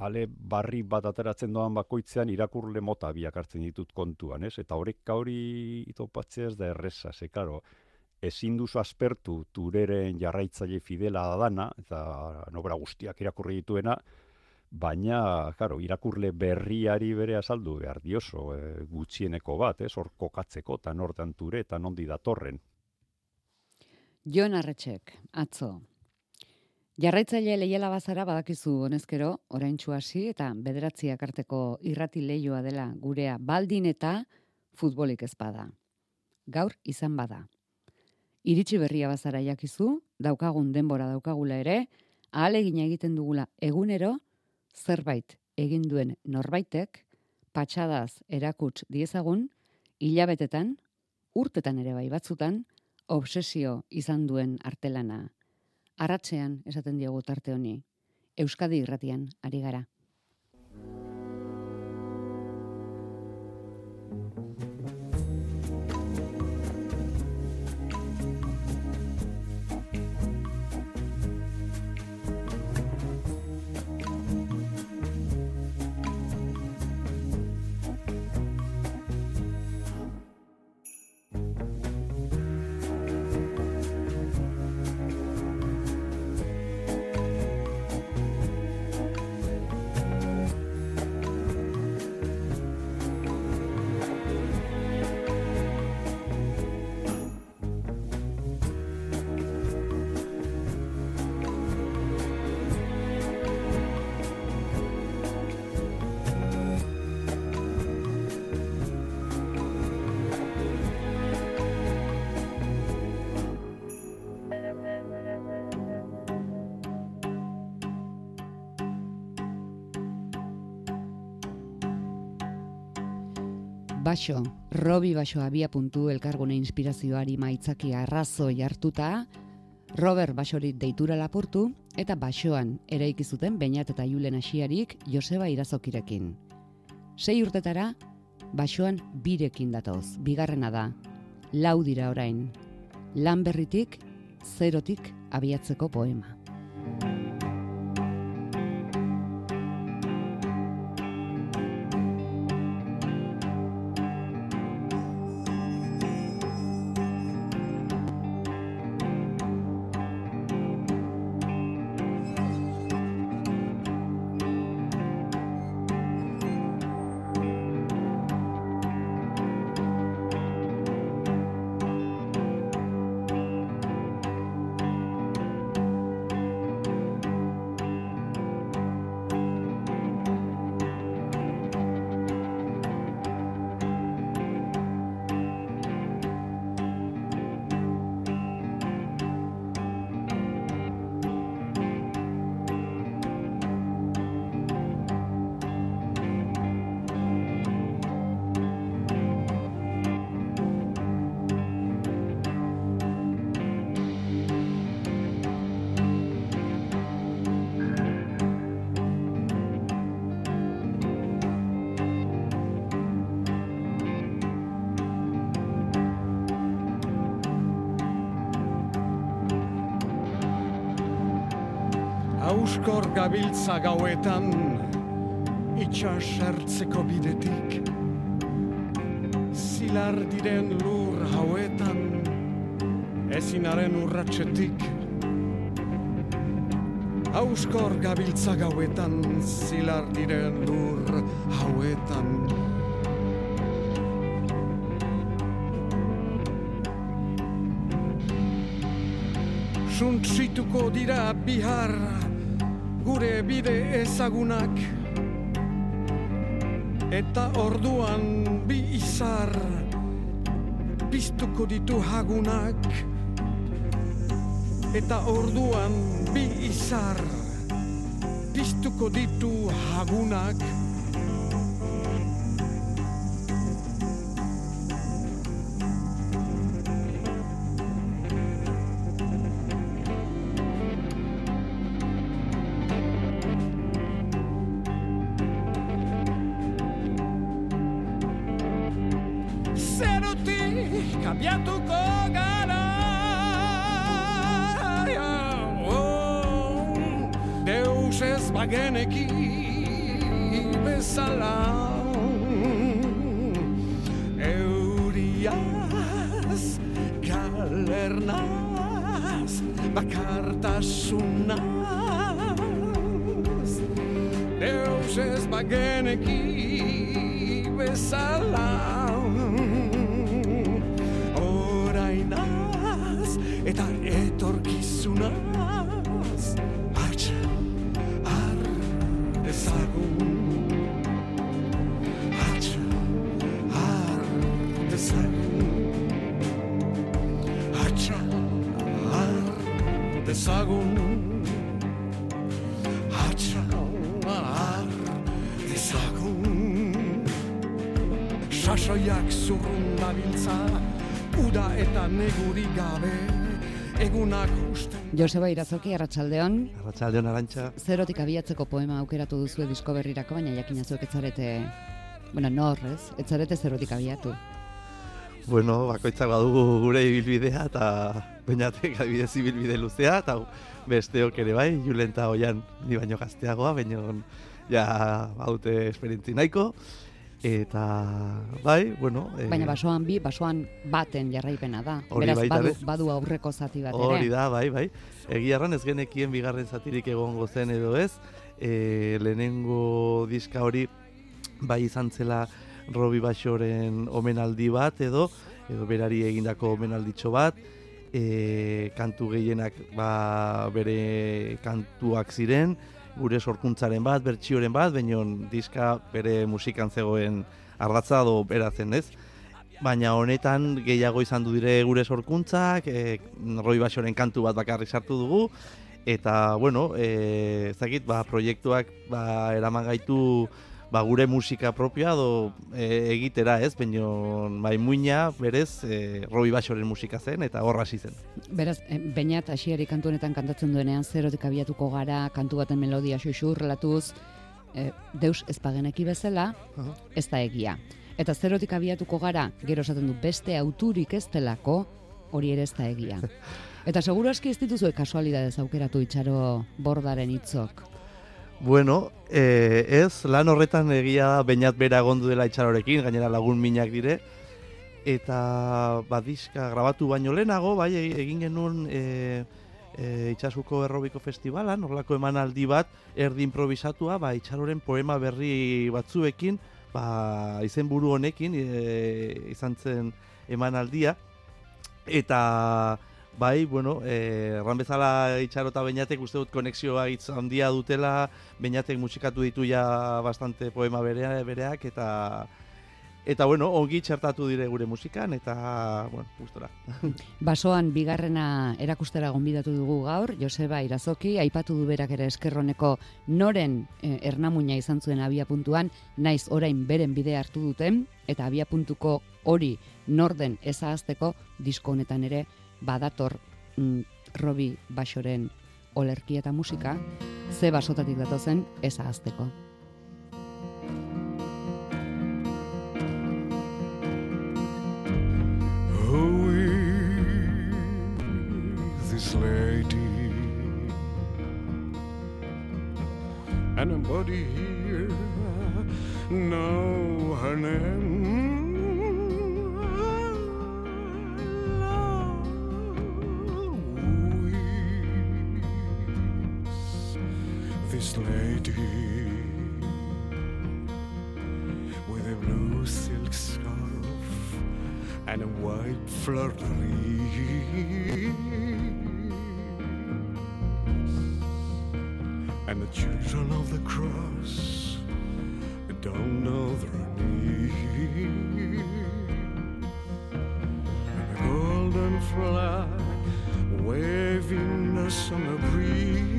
ale barri bat ateratzen doan bakoitzean irakurle mota biak hartzen ditut kontuan, ez? Eta horrek hori itopatzea ez da erreza, ze, karo, ezin duzu aspertu Tureren jarraitzaile fidela dana, eta nobera guztiak irakurri dituena, baina, karo, irakurle berriari bere azaldu behar dioso, gutxieneko bat, ez? Hor kokatzeko, eta nortan Ture, eta nondi datorren. Jon Arretxek, atzo. Jarraitzaile leiala bazara badakizu honezkero, oraintsu hasi eta bederatziak arteko irrati leioa dela gurea baldin eta futbolik ez bada. Gaur izan bada. Iritsi berria bazara jakizu, daukagun denbora daukagula ere, ahalegina egiten dugula egunero, zerbait egin duen norbaitek, patxadaz erakuts diezagun, hilabetetan, urtetan ere bai batzutan, obsesio izan duen artelana. Arratsean esaten diogu tarte honi. Euskadi Irratian ari gara. Baso, Robi Baso Abiapuntu elkargune inspirazioari maitzaki arrazoi hartuta, Robert Basori deitura lapurtu eta Basoan eraiki zuten Beñat eta Julen Asiarik Joseba Irazokirekin. 6 urtetara Basoan birekin datoz, bigarrena da, 4 dira orain, lan berritik, 0tik abiatzeko poema. Auskor gabiltza gauetan, itxas ertzeko bidetik, zilar diren lur hauetan, ezinaren urratxetik. Auskor gabiltza gauetan, zilar diren lur hauetan. Suntsituko dira bihar, gure bide ezagunak, eta orduan bi izar piztuko ditu hagunak, eta orduan bi izar piztuko ditu hagunak. Abiatuko gara, Deus ez bageneki, bezala euriaz galernaz bakartasunaz Deus ez bageneki bezala orainaz eta etorkizunaz atxa har dezagun atxa har dezagun atxa har dezagun atxa har dezagun sasoiak zurrun dabiltza uda eta neguri gabe egunak usten Joseba Irazoki, arratsaldeon. Arratsaldeon Arantxa. Zerotik abiatzeko poema aukeratu duzu disko berrirako, baina jakina zuek etzarete, nor, ez? Etzarete zerotik abiatu. Bueno, bakoitzak badugu gure ibilbidea eta bainatek adibidez ibilbide luzea eta besteok ere bai, Julen eta Oian ni baino gazteagoa, baina ja baute esperientzi nahiko. Eta bai, bueno... Baina basoan baten jarraipena da. Hori Beraz, badu aurreko zati bat ere. Hori da, bai. Egia erran ez genekien bigarren zatirik egongo zen edo ez. Lehenengo diska hori bai izan zela Robi Baxoren omenaldi bat edo berari egindako omenalditxo bat. Kantu gehienak bere kantuak ziren. Gure sorkuntzaren bat, bertsioren bat, baina diska bere musikan zegoen ardatza edo beratzen ez. Baina honetan gehiago izan du dire gure sorkuntzak, Robi Baxoren kantu bat bakarrik sartu dugu, eta, bueno, ezagit, proiektuak eraman gaitu gure musika propioa edo egitera ez, baina muina berez Robi Baxoren musika zen eta horra hasi zen. Beraz, Beñat hasiari kantu honetan kantatzen duenean zerotik abiatuko gara, kantu baten melodia xuxurlatuz, deus ez bageneki bezala, ez da egia. Eta zerotik abiatuko gara, gero esaten du beste auturik ez delako, hori ere ez da egia. Eta seguru aski ez dituzue kasualidadez aukeratu Itxaro Bordaren hitzok. Bueno, ez, lan horretan egia da Beñat bera egondu dela Itxarorekin, gainera lagun minak dire, eta diska grabatu baino lehenago, bai, egin genuen Itxasuko Errobiko Festivalan, horlako emanaldi bat, erdi improvisatua, Itxaroren poema berri batzuekin, izenburu honekin izan zen emanaldia, eta bai, bueno, erran bezala Itxaro eta Beñatek uste dut konexioa hitz handia dutela, Beñatek musikatu ditu ja bastante poema bereak, eta bueno, ongi txertatu dire gure musikan, eta, bueno, gustora. Basoan bigarrena erakustera gonbidatu dugu gaur, Joseba Irazoki, aipatu du berak ere eskerroneko noren ernamuina izan zuen abiapuntuan, naiz orain beren bidea hartu duten, eta abiapuntuko hori norden ezahazteko disko honetan ere badator Robi Baxoren olerkia eta musika, ze basotatik datozen ezahazteko. Who is this lady? Anybody here know her name? Who is this lady with a blue silk scarf and a white fleur-de-lis? And the children of the cross don't know their need. And a golden flag waving us on a breeze.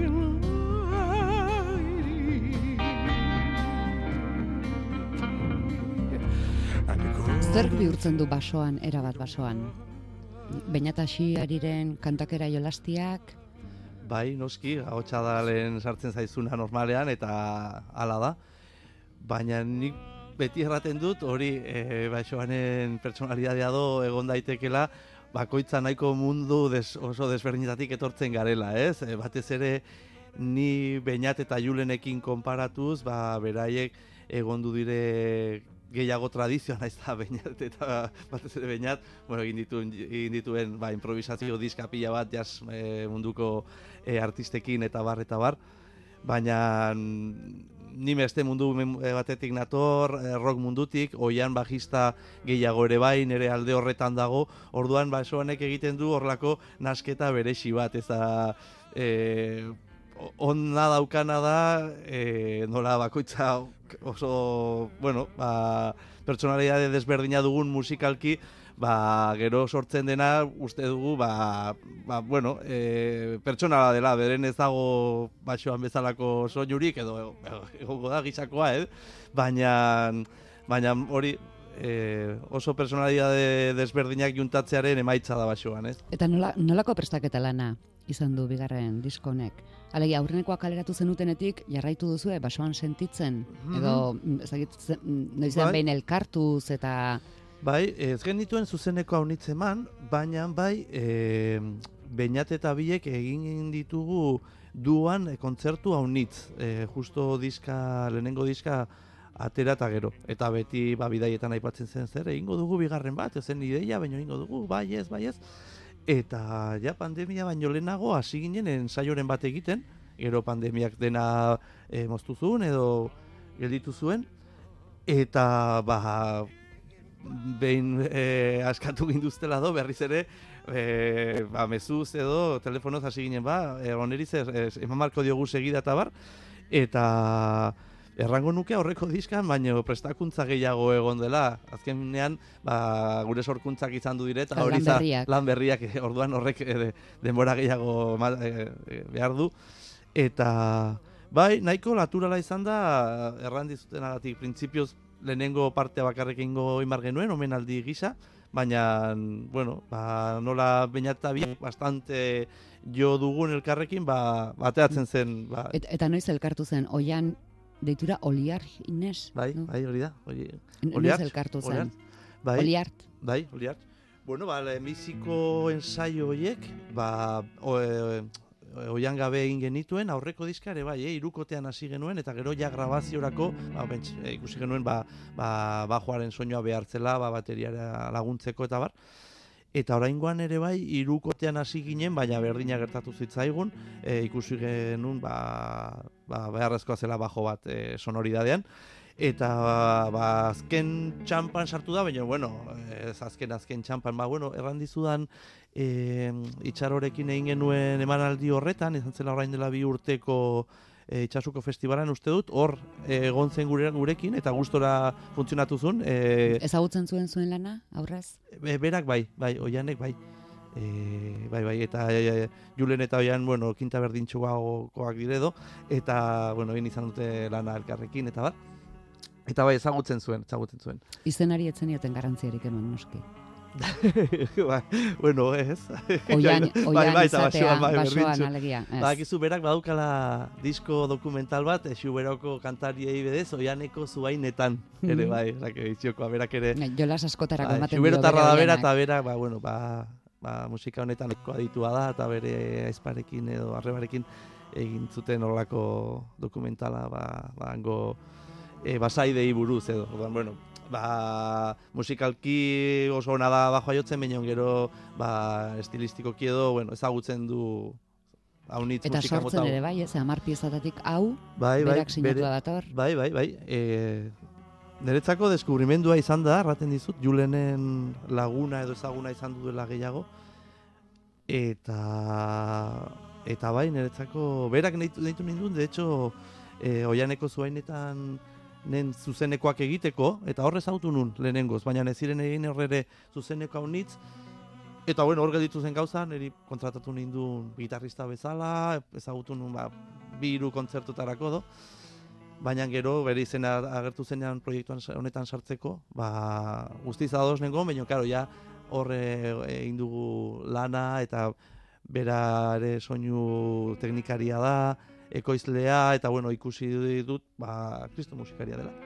Zerk bihurtzen du basoan, erabat basoan? Beñat hasiariren kantakera jolastiak? Bai, noski, ahotsa da lehen sartzen zaizuna normalean eta hala da. Baina nik beti erraten dut hori basoanen pertsonalidadea do egon daitekela bakoitza nahiko mundu oso desberdinetatik etortzen garela, ez? Batez ere ni Beñat eta Julenekin konparatuz, beraiek egondu dire gehiago tradizioa, naiz da Beñat eta batez ere Beñat, bueno, egin dituen improvisazio diska pila bat jazz munduko artistekin eta bar, baina ni beste mundu batetik nator, rock mundutik, oian bajista gehiago ere bai, nire alde horretan dago, orduan esoanek egiten du horlako nasketa beresi bat, ez da onna daukana da, nola bakoitza oso, bueno, pertsonalidade desberdina dugun musikalki, gero sortzen dena uste dugu, bueno, pertsonala dela, beren ez dago basoan bezalako soinurik, edo egongo da gizakoa, baina hori oso personalidade desberdinak juntatzearen emaitza da basoan, ez? Eta nolako prestaketa lana izan du bigarren disko honek? Alegia, aurrenekoa kaleratu zenutenetik jarraitu duzu basoan sentitzen, edo noizean behin elkartuz eta... Bai, ez genituen zuzeneko haunitz eman, baina Beñat eta biek egin ditugu duan kontzertu haunitz, justo lehenengo diska atera eta gero. Eta beti bidaietan aipatzen zen zer, egingo dugu bigarren bat, ezen ideia, baina egingo dugu, bai ez. Eta ja pandemia baino lehenago hasi ginen ensaioren bat egiten, gero pandemiak dena moztu zuen edo gelditu zuen, eta behin askatu ginduztela berriz ere, mezuz edo telefonoz hasi ginen oneriz eman marko diogu segida eta bar, eta errango nuke aurreko diskan, baina prestakuntza gehiago egon dela. Azkenean, gure sorkuntzak izan du dire, eta hori lan berriak, orduan horrek denbora gehiago behar du. Eta, nahiko naturala izan da, errandizutenagatik, printzipioz lehenengo partea bakarrik egingo imar genuen, omenaldi gisa, baina, bueno, nola Beñat eta biak bastante jo dugun elkarrekin, bateatzen zen. Eta noiz elkartu zen, oian deitura Oliar Ines? Bai, hori da. Noiz elkartu zen? Oliart? Bai, Oliart. Bueno, lehenbiziko ensaio horiek, oian gabe egin genituen, aurreko diskare, hirukotean hasi genuen, eta gero ja grabaziorako, ikusi genuen, bajoaren soinua behartzela, bateriara laguntzeko eta bar. Eta oraingoan ere hirukotean hasi ginen, baina berdina gertatu zitzaigun, ikusi genuen, beharrezkoa zela bajo bat sonoridadean. Eta azken txampan sartu da, baina, bueno, ez azken txampan, errandizudan itxarorekin egin genuen emanaldi horretan, izan zela orain dela 2 urteko Itxasuko festibalan uste dut, hor egon zen gurekin, eta gustora funtzionatu zuen. Ezagutzen zuen lana, aurraz? Berak oianek bai. Eta Julen eta oian, bueno, kinta berdintxuagoak diredo, eta, bueno, egin izan dute lana elkarrekin, eta bat. Eta ezagutzen zuen. Izenari etzen ioten garrantziarik enuen noski. Bueno, ez. Oian izatea, basoan alegia. Bakizu berak badukala disko dokumental bat, Xuberoko kantariei bedez, oianeko zuainetan. Ere iziokoa berak ere. Jolas askotarako ematen dio Xuberotarra da bera, eta berak, musika honetan eko aditua da, eta bere aizparekin edo arrebarekin egin zuten horrelako dokumentala, hango basaidei buruz edo. Bueno, musikalki oso ona da bajoa jotzen, baina gero estilistikoki edo, bueno, ezagutzen du haunitz musika mota. Eta sortzen ere bai, 10 piezatatik hau, berak sinatua dator. Bai. Niretzako deskubrimendua izan da, erraten dizut, Julenen laguna edo ezaguna izan duela gehiago. Eta bai, niretzako, berak nahitu ninduen, de hecho, oianeko zuainetan zuzenekoak egiteko, eta horre ezagutu nun lehenengoz, baina ez ziren egin horre zuzeneko haunitz, eta bueno, hor gelditu zen gauza, niri kontratatu nindun gitarrista bezala, ezagutu nun 2 kontzertutarako do, baina gero bere izena agertu zenean proiektuan honetan sartzeko, guztiz ados nengoen, baina karo, ja horre egin dugu lana, eta bera ere soinu teknikaria da, ekoizlea, eta bueno, ikusi dut, kristo musikaria dela.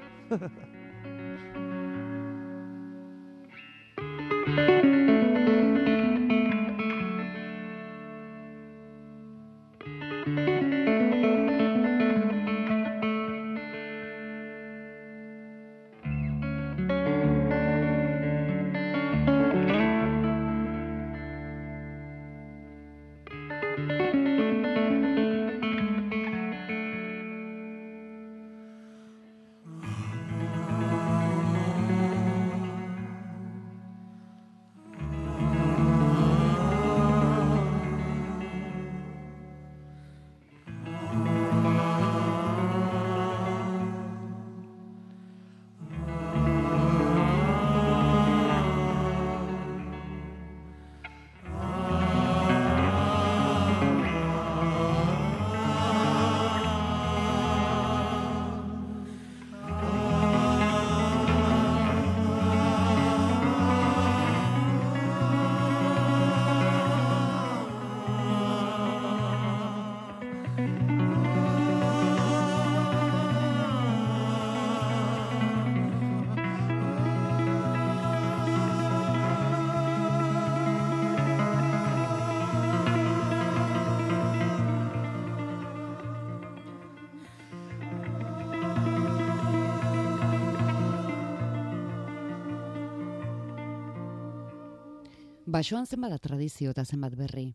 Basoan zenbat da tradizio eta zenbat berri?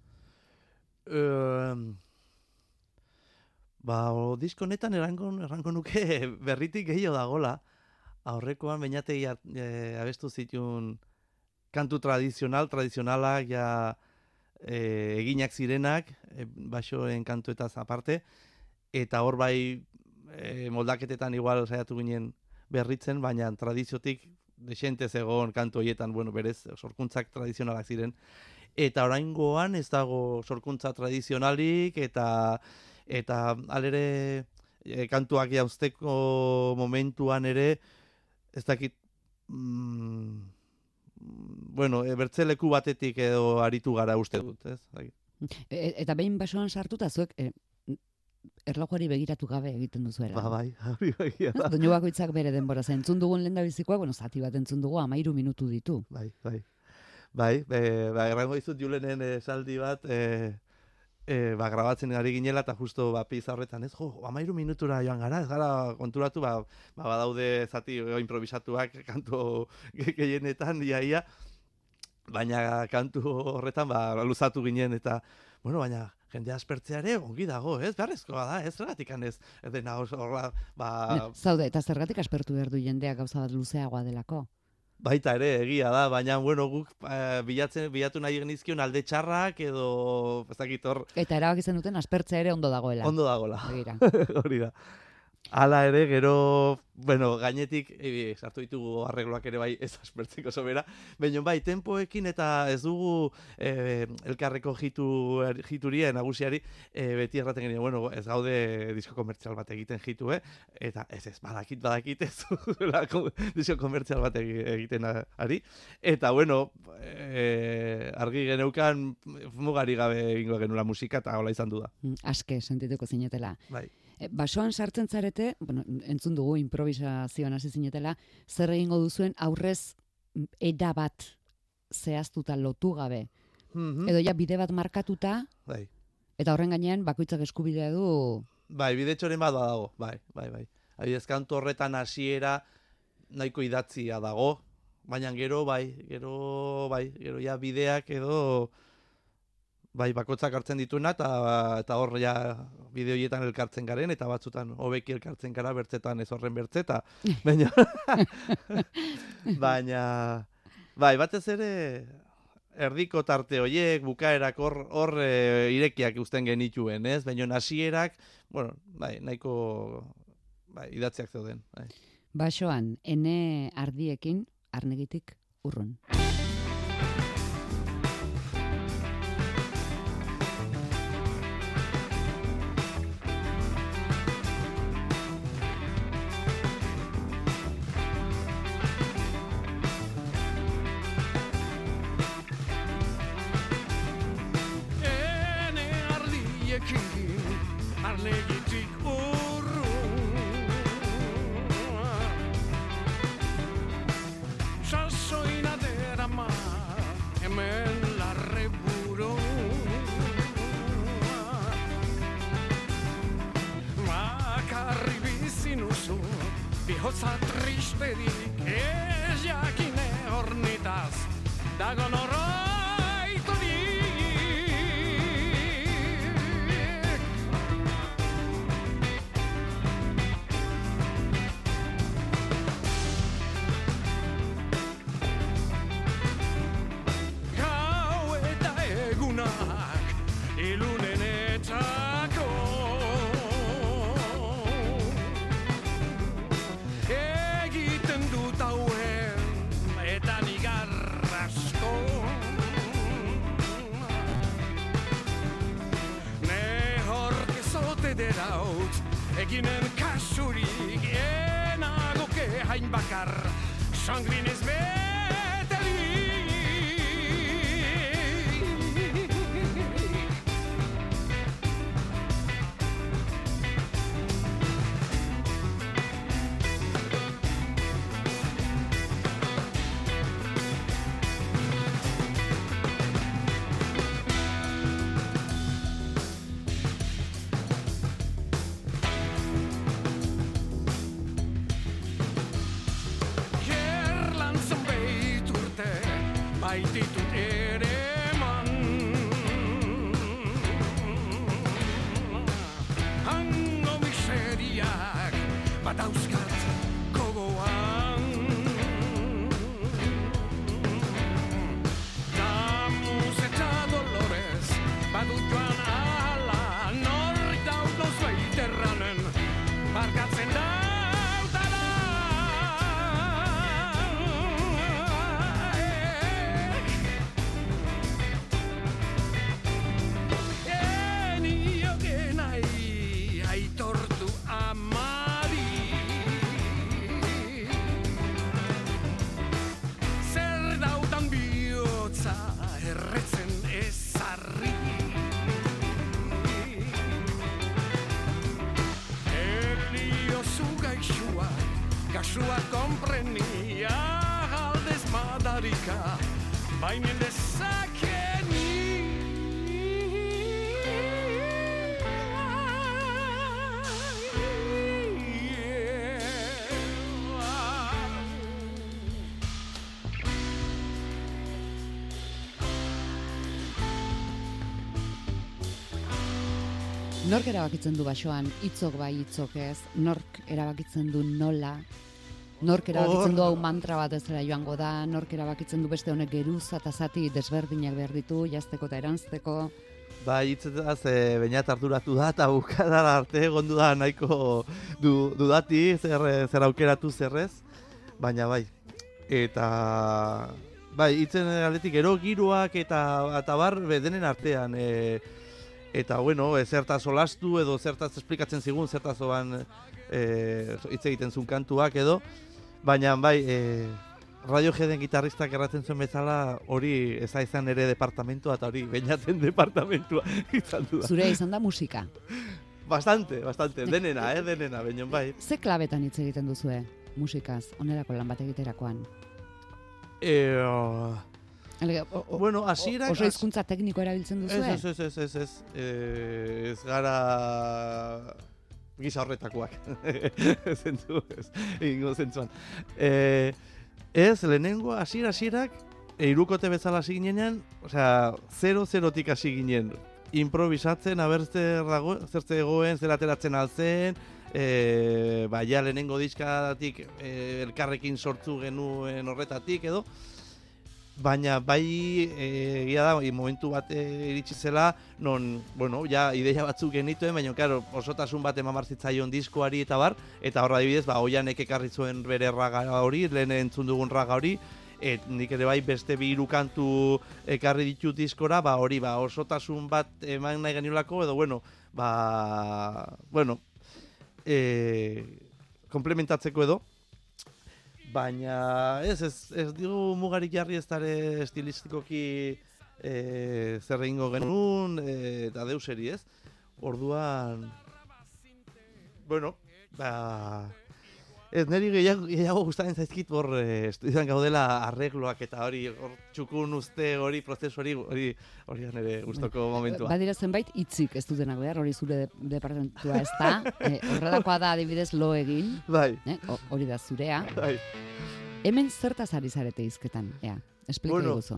Disko honetan errango nuke berritik gehiago dagola. Aurrekoan bainatei abestu zituen kantu tradizionalak, ja eginak zirenak, basoen kantuetaz aparte, eta hor bai moldaketetan igual saiatu ginen berritzen, baina tradiziotik desente zegoen kantu horietan, bueno, berez, sorkuntzak tradizionalak ziren. Eta oraingoan ez dago sorkuntza tradizionalik, eta alere kantuak jauzteko momentuan ere, ez dakit, bertzeleku batetik edo aritu gara uste dut, ez? Eta behin basoan sartuta zuek erlojuari begiratu gabe egiten duzuela. Bai, hori begia da. Doinu bakoitzak bere denbora zen. Entzun dugun lehendabizikoa, zati bat entzun dugu 13 minutu ditu. Bai, errango dizut Julenen esaldi bat, grabatzen ari ginela, eta justo pizza horretan, 13 minutura joan gara, ez gara konturatu, badaude zati improvisatuak kantu gehienetan, ia, baina kantu horretan luzatu ginen, eta, baina jende aspertzea ere ongi dago, ez? Beharrezkoa da, ez? Zergatik ez dena horra, Zaude, eta zergatik aspertu behar du jendeak gauza bat luzeagoa delako? Baita ere, egia da, baina, guk bilatu nahi genizkion alde txarrak edo, ez dakit hor... Eta erabak izan duten aspertzea ere ondo dagoela. Ondo dagoela. Begira. Hori da. Hala ere, gero, gainetik, sartu ditugu arregloak ere bai ez aspertzeko sobera, baina bai, tempoekin eta ez dugu elkarreko jituria, nagusiari, beti erraten genien, ez gaude disko komertzial bat egiten jitu, eta ez badakit ez disko komertzial bat egiten ari, eta argi geneukan mugari gabe egingo genula musika, eta hola izan du da. Aske sentituko zinetela. Bai. Basoan sartzen zarete, entzun dugu improvisazioan hasi zinetela, zer egingo duzuen aurrez era bat zehaztuta lotu gabe. Edo ja bide bat markatuta, bai. Eta horren gainean bakoitzak eskubidea du... Bai, bide txoren bat dago, bai. Adibidez, kantu horretan hasiera nahiko idatzia dago, baina gero ja bideak edo... Bai, bakotzak hartzen dituena, eta hor ja bide horietan elkartzen garen, eta batzutan hobeki elkartzen gara bertzetan ez horren bertzeta. Baina, bai, batez ere erdiko tarte horiek, bukaerak hor irekiak uzten genituen, ez? Baina hasierak, nahiko idatziak zeuden. Bai. Basoan, ene ardiekin, arnegitik urrun. Arnegitik urrun Sasoina derama hemen larreburu Bakarri bizi nuzu bihotza tristerik ez jakine hornitaz dagon eginen kasurik enagoke hain bakar sangrinez beteli baititut badauzkat gogoan. Damus eta Dolores badu joan ala, nor daudoz baiterranen barkatzen daudala. Enioke nahi aitortu amari, zer daudan bihotza erretzen ezarri. Eliozu gaixua, kasua komprenia, aldez madarika, bainen dezakeni. Nork erabakitzen du basoan, hitzok bai hitzok ez, nork erabakitzen du nola, nork erabakitzen du hau mantra bat ez dela joango da, nork erabakitzen du beste honek geruza eta zati desberdinak behar ditu, jazteko eta eranzteko. Bai, hitzetaz, bainat arduratu da, eta bukadara arte egondu da nahiko dudati, zer aukeratu zerrez, baina bai. Eta, bai, hitzen aldetik gero giroak eta bar denen artean, eta, bueno, zertaz olastu edo zertaz esplikatzen zigun, zertaz oban hitz egiten zuen kantuak edo, baina, bai, Radioheaden gitarristak erratzen zuen bezala hori eza izan ere departamentua eta hori bainaten departamentua izan du da. Zure izan da musika. Bastante, denena, baina bai. Ze klabetan hitz egiten duzue musikaz, onerako lan bat egiterakoan? Bueno, hasierak... Oso hizkuntza tekniko erabiltzen duzue? Ez gara gisa horretakoak. Zentzu, egingo zentzuan. Ez, lehenengo hasierak hirukote bezala hasi ginean, osea, 0-0tik hasi ginen. Improvisatzen, aber zertze egoen, zer ateratzen altzen, ja lehenengo diskatik elkarrekin sortu genuen horretatik edo, baina bai egia da, momentu bat iritsi zela, non, bueno, ja ideia batzuk genituen, baina, claro, osotasun bat eman zitzaion diskoari eta bar, eta horra adibidez, Oianek ekarri zuen bere raga hori, lehen entzun dugun raga hori, nik ere bai beste bi hiru kantu ekarri ditut diskora, hori, osotasun bat eman nahi geniolako, edo, komplementatzeko edo, baina ez digu mugarik jarri ez dara estilistikoki zer egingo genuen eta deuseri ez. Orduan, bueno, ez niri gehiago gustaren zaizkit hor estudioan gaudela arregloak eta hori txukun uste hori prozesu hori nire gustoko momentua. Badira zenbait hitzik ez dutenak behar, hori zure departamentua ez da. Horrelakoa da adibidez lo egin. Bai. Hori da zurea. Bai. Hemen zertaz ari zarete hizketan, esplika iguzo.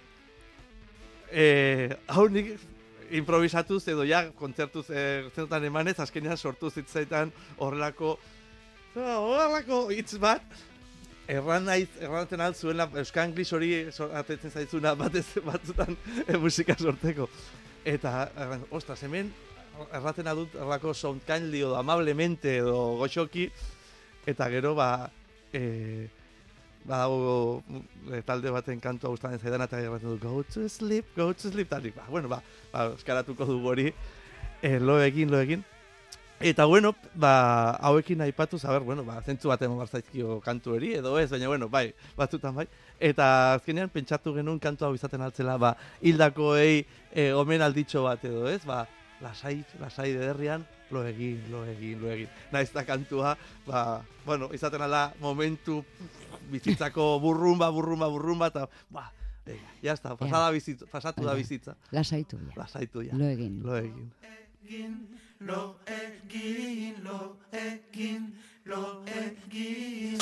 Hau nik improvisatuz edo ja kontzertuz zertan emanez, azkenean sortu zitzaitan horrelako hitz bat, erraten altzuela Euskal Anglis hori atetzen zaitzuna batzutan musika sorteko. Eta, ostras, hemen erraten adut errako sound kindly edo amablemente edo goxoki, eta gero badago talde baten kantua gustatzen zaidan eta erraten du go to sleep, eta eskaratuko dugu hori, lo egin. Eta, hauekin aipatuz, zentzu bat eman barzaizkio kantu hori, edo ez, baina, batzutan bai. Eta azkenean pentsatu genuen kantu hau izaten altzela, hildakoei omen alditxo bat edo ez, lasai dederrian, lo egin. Naiz da kantua, izaten alda momentu bizitzako burrumba, eta, jazta, pasatu da bizitza. Lasaitu ja. Lo egin. Lo egin.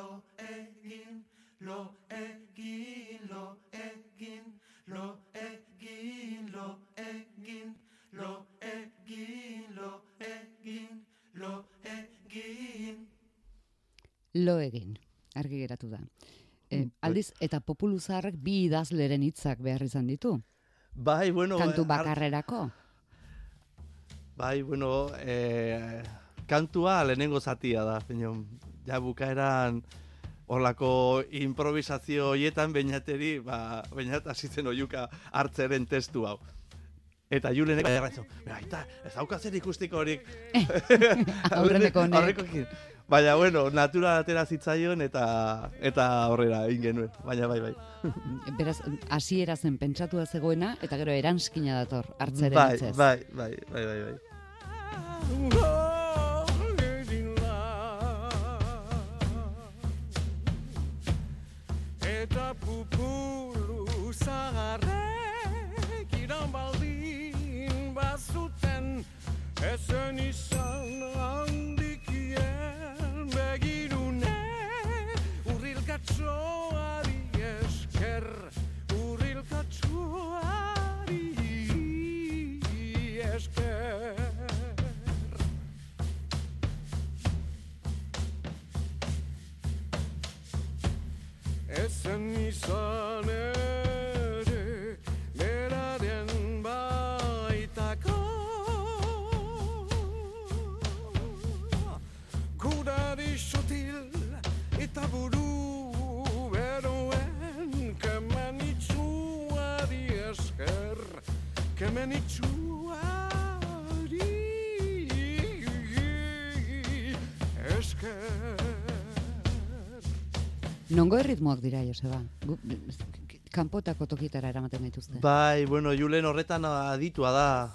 lo egin, lo egin, lo egin, lo egin, lo egin, lo egin, lo egin, lo egin. Lo egin, argi geratu da. Aldiz, eta Populu Zaharrek bi idazleren hitzak behar izan ditu. Bai, bueno... Kantu bakarrerako. Bai, bueno, kantua lehenengo zatia da. Ja bukaeran horlako improvisazio hoietan bainateri, bainat hasitzen oiuka hartzeren testu hau. Eta Julenek erratzen, aita, ez dauka zer ikustiko horik. Aurreneko honek. Baina, bueno, natura atera zitzaion eta horrela egin genuen. Baina, bai. Beraz, hasiera zen pentsatua zegoena, eta gero eranskina dator, hartzeren hitzez. Bai. Eta Populu Zaharrek iran baldin bazuten ezen izan handikien begirune urrilkatxoari esker urrilkatxoari esker. Ezen izan ere beraren baitako kudari sutil eta buru beroen kemenitsuari esker esker. Nongo erritmoak dira, Joseba? Kanpotako tokitara eramaten dituzte. Bai, bueno, Julen horretan aditua da.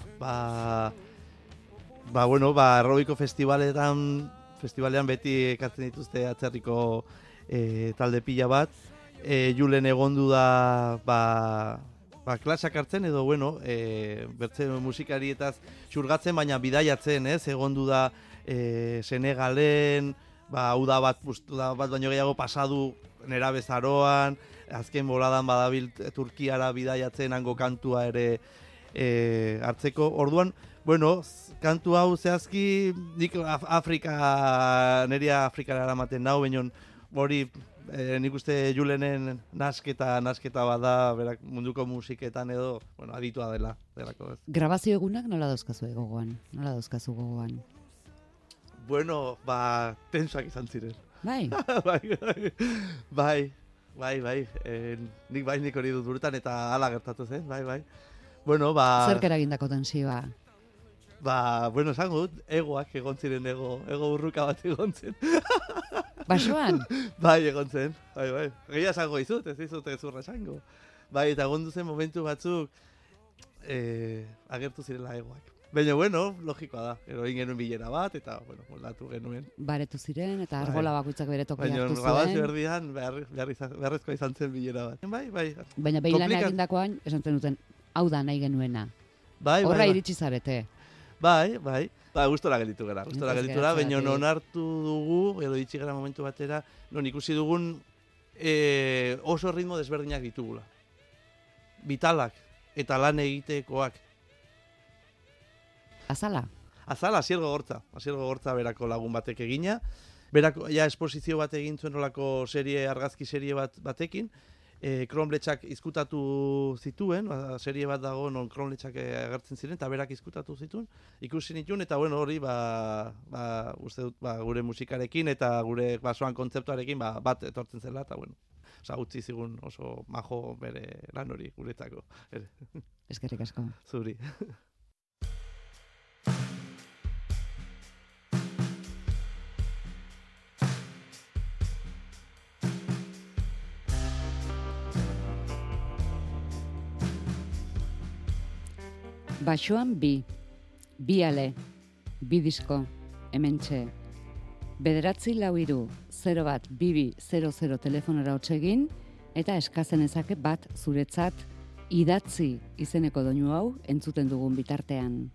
Aerobiko festivalean beti ekartzen dituzte atzerriko talde pila bat. Julen egondu da, klasak hartzen edo, bertze musikarietaz xurgatzen, baina bidaiatzen, egondu da Senegalen, uda bat baino gehiago pasadu nerabezaroan, azken boladan badabil Turkiara bidaiatzen hango kantua ere hartzeko. Orduan, kantu hau zehazki nik neria Afrikara eramaten nau, baina hori nik uste Julenen nasketa bada, berak munduko musiketan edo, aditua delako ez. Grabazio egunak nola dauzkazu gogoan? Tensoak izan ziren. Bai? Bai. Nik hori dut burutan eta hala gertatu zen, bai. Zerk eragindako tensioa? Esango dut, egoak egon ziren, ego urruka bat egon zen. Basoan? Bai, egon zen, bai. Gehiago esango izut, ez izut ezurra esango. Bai, eta egon duzen momentu batzuk agertu zirela egoak. Baina, logikoa da. Egin genuen bilera bat, eta, moldatu genuen. Baretu ziren, eta argola bakoitzak bere tokia hartu zuen. Baina, grabazio erdian, beharrezkoa izan zen bilera bat. Bai. Baina, behilan egindakoan, esan zen duten, hau da nahi genuena. Horra iritsi zarete. Bai. Gustora gelditu gara. Baina, non hartu dugu, edo ditzi gara momentu batera, non ikusi dugun oso ritmo desberdinak ditugula. Vitalak, eta lan egitekoak. Azala, Asiergo Gortza berako lagun batek egina. Berako, esposizio bat egin zuen olako argazki serie batekin. Kronbletxak izkutatu zituen, serie bat dago non Kronbletxak agertzen ziren, eta berak izkutatu zituen. Ikusi nituen, eta hori, uste dut, gure musikarekin, eta gure basoan kontzeptuarekin, bat etortzen zela, eta utzi zigun oso majo bere lan hori guretzako. Eskerrik asko. Zuri. Basoan bi ale, bi disko, hementxe. 9-4-3-0-1-2-2-0-0 telefonora hotsegin, eta eskatzen ezake bat zuretzat idatzi izeneko doinu hau entzuten dugun bitartean.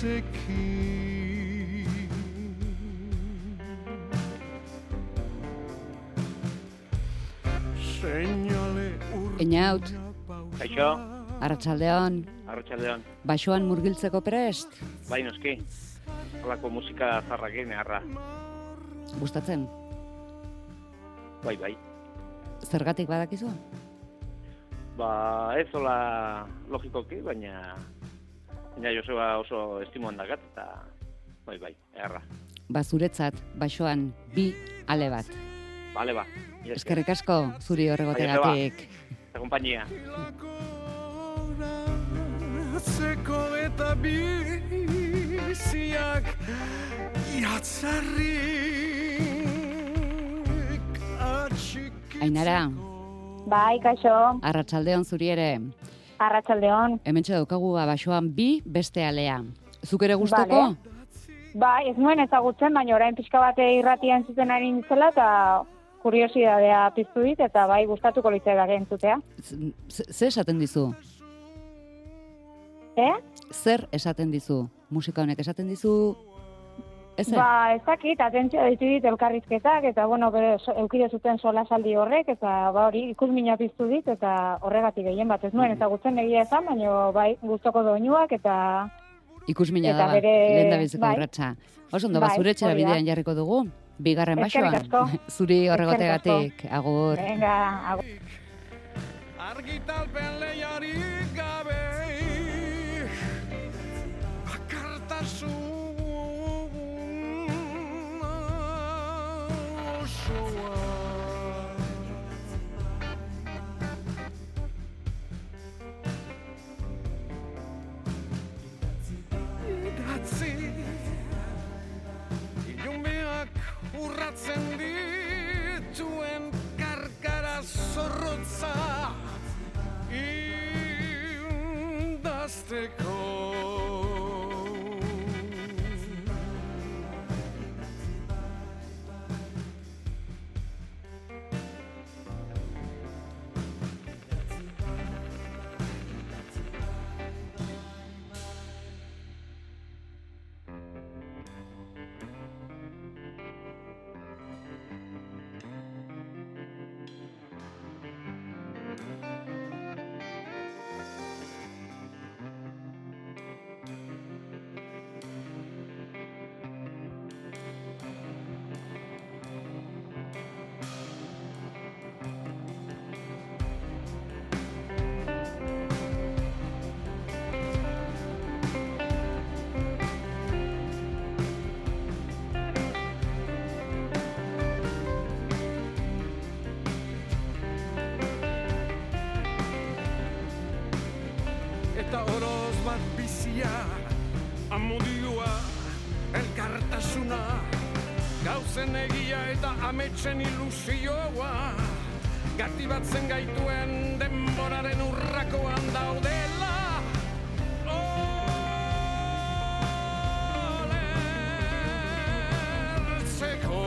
zekin. Seinale Einaut, Kaixo, arratsaldeon, arratsaldeon. basoan murgiltzeko prest, Bai, noski. Holako musika zarrakin harra. gustatzen, Bai. zergatik badakizu? Ba, ez hola logikoki, baina Joseba oso estimoan dakat, eta bai, harra. Ba, zuretzat, basoan, bi ale bat. Bale, ba. Eskerrik asko, zuri horregotegatik. Eta kompainia. Zeko eta biziak iatzarrik atxikitz. Ainara, Bai, kaixo, arratsaldeon zuri ere. arratsaldeon. Hementxe daukagu basoan bi beste alea. Zuk ere gustoko? Vale. Bai, ez nuen ezagutzen, baina orain pixka bate irratian zuten ari nintzela, eta kuriosidadea piztu dit, eta bai, gustatuko litzaidak entzutea. Zer esaten dizu? Zer esaten dizu? Musika honek esaten dizu? Ezer? Ba, ez dakit, atentzioa ditu dit elkarrizketak, eta bueno, bere eukide zuten solasaldi horrek, eta ba hori, ikusmina piztu dit, eta horregatik gehien bat ez nuen ezagutzen egia esan, baina bai, gustoko doinuak, eta Ikusmina eta da, bere- lehen da biziko bai. urratsa. Oso ondo, Bai, zure etxera hori da. bidean jarriko dugu, bigarren Eskerrik basoan. asko. Zuri horregotegatik, agur. venga, agur. Argitalpen lehiarik gabe bakartasun osoa. Idatzi ilunbeak urratzen dituen karkara zorrotza indazteko. Eta oroz bat bizia, amodioa, elkartasuna, gauzen egia eta ametsen ilusioa, gati batzen gaituen denboraren urrakoan daudela. Olertzeko.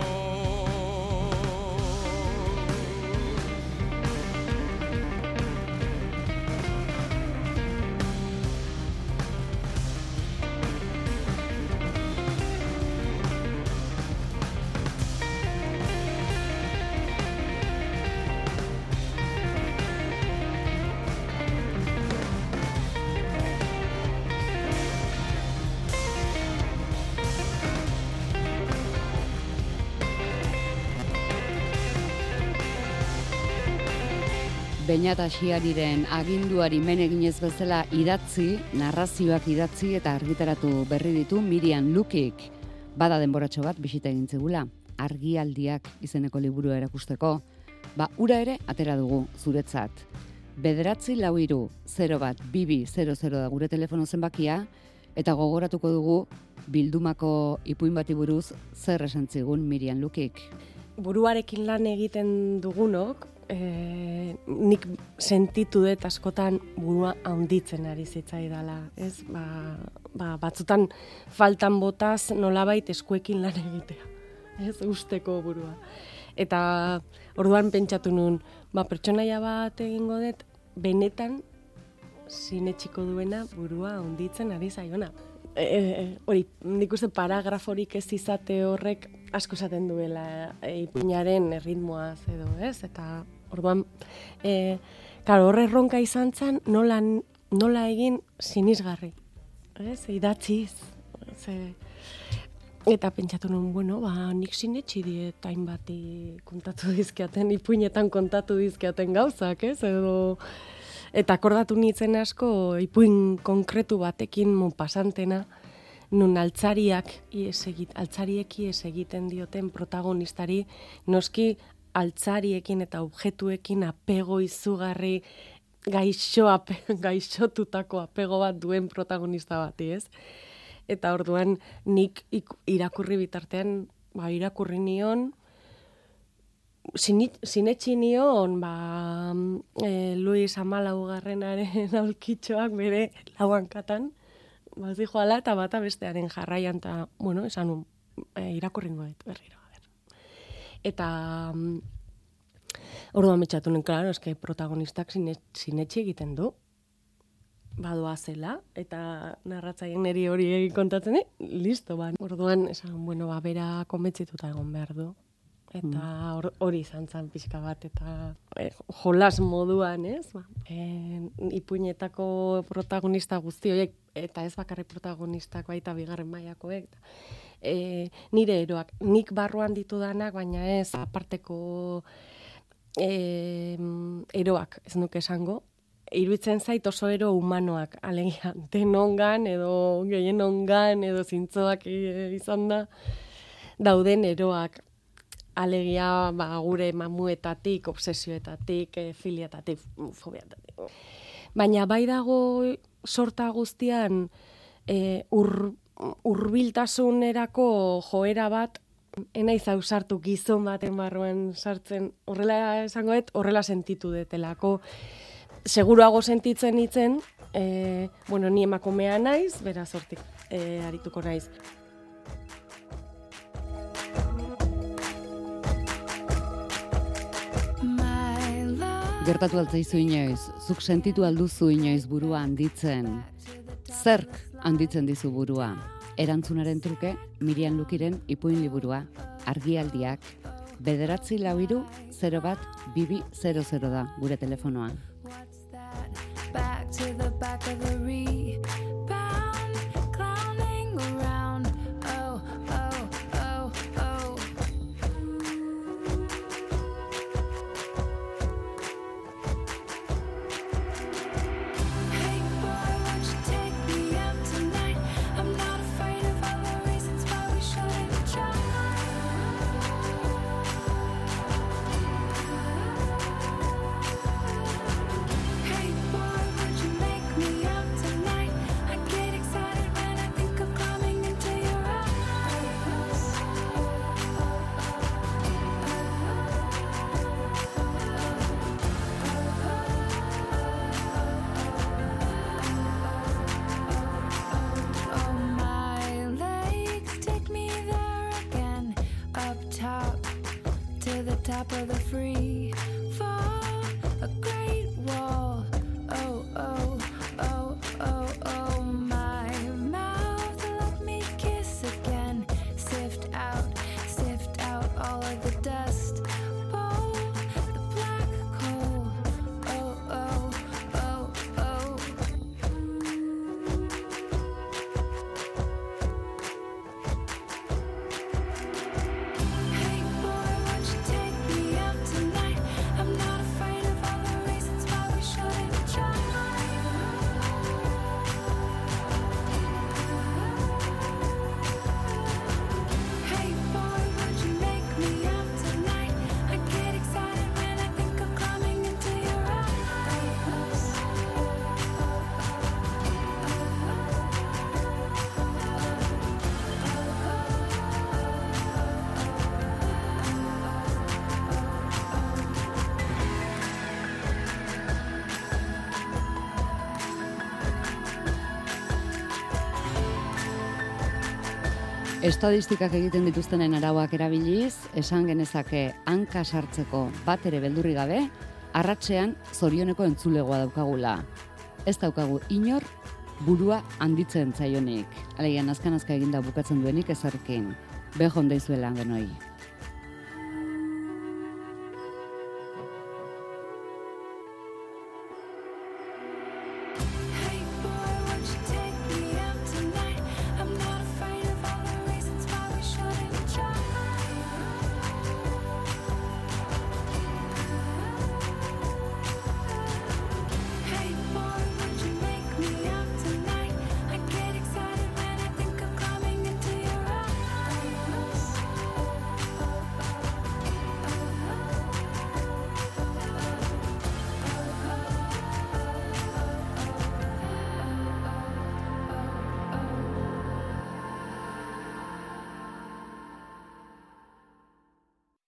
Beñat Asiariren aginduari men eginez bezala idatzi, narrazioak idatzi eta argitaratu berri ditu Miriam Lukik. Bada denboratxo bat bisita egin zegula, argialdiak izeneko liburua erakusteko. Ba, ura ere atera dugu zuretzat. 943-01-2200 da gure telefono zenbakia, eta gogoratuko dugu bildumako ipuin bati buruz zer esan zigun Miriam Lukik. Buruarekin lan egiten dugunok, nik sentitu dut askotan burua handitzen ari zitzaidala, ez? Batzutan faltan botaz nolabait eskuekin lan egitea, ez? Usteko burua. Eta orduan pentsatu nun, pertsonaia bat egingo dut, benetan sinetsiko duena burua handitzen ari zaiona. hori, nik uste paragraforik ez izate horrek asko esaten duela ipuinaren erritmoaz edo, ez? Eta orduan, claro, horre erronka izan zen nola egin sinisgarri, ez? Idatziz, eta pentsatu nuen, bueno, nik sinetxi diet hainbati kontatu dizkiaten, ipuinetan kontatu dizkiaten gauzak, ez? Eta akordatu nintzen asko ipuin konkretu batekin pasantena, nun altzariek ies egiten dioten protagonistari, noski altzariekin eta objektuekin apego izugarri gaixotutako apego bat duen protagonista bati, ez? Eta orduan nik irakurri bitartean, irakurri nion, sinetxi nion, Luis Amalaugarrenaren aulkitxoak bere lauankatan, zijoala eta bata bestearen jarraian, eta, bueno, esan irakurri nuen berriro. Eta orduan metxatu nuen, klaro, eske protagonistak sinetxi egiten du, badoa zela, eta narratzaien niri hori egin kontatzen, listo, Orduan, esan, bueno, bera konbentzituta egon behar du. Eta hori izan zen pixka bat, eta jolas moduan, ez? Ipuinetako protagonista guzti horiek, eta ez bakarrik protagonistak baita bigarren mailakoek, nire eroak, nik barruan ditudanak, baina ez aparteko eroak, ez nuke esango, iruditzen zait oso ero humanoak, alegia, denongan, edo gehienongan, edo zintzoak izan da, dauden eroak, alegia gure mamuetatik, obsesioetatik, filiatatik, fobiatatik. Baina bai dago sorta guztian hurbiltasunerako joera bat, enaiz ausartu gizon baten barruan sartzen, horrela esangoet, horrela sentitu detelako. Seguruago sentitzen nitzen, ni emakumea naiz, beraz hortik arituko naiz. Gertatu altzaizu inoiz, zuk sentitu alduzu inoiz burua handitzen. Zerk handitzen dizu burua? Erantzunaren truke, Miriam Lukiren ipuin liburua, argialdiak, 943010200 da gure telefonoa. Top of the free fall, a great wall. Oh, oh, oh, oh, oh, my mouth, let me kiss again. Sift out all of the dust. Bowl, the black coal. Oh, oh, oh, oh. Hey boy, won't you take me out tonight? I'm not afraid of all the reasons why we shouldn't try. Hey boy, won't you make me out tonight? I get excited when I think of climbing into your eyes. Estadistikak egiten dituztenen arauak erabiliz, esan genezake hanka sartzeko bat ere beldurri gabe, arratsean zorioneko entzulegoa daukagula. Ez daukagu inor burua handitzen zaionik. Alegia, nazka eginda bukatzen duenik ezarkin. Behon deizuela genoi.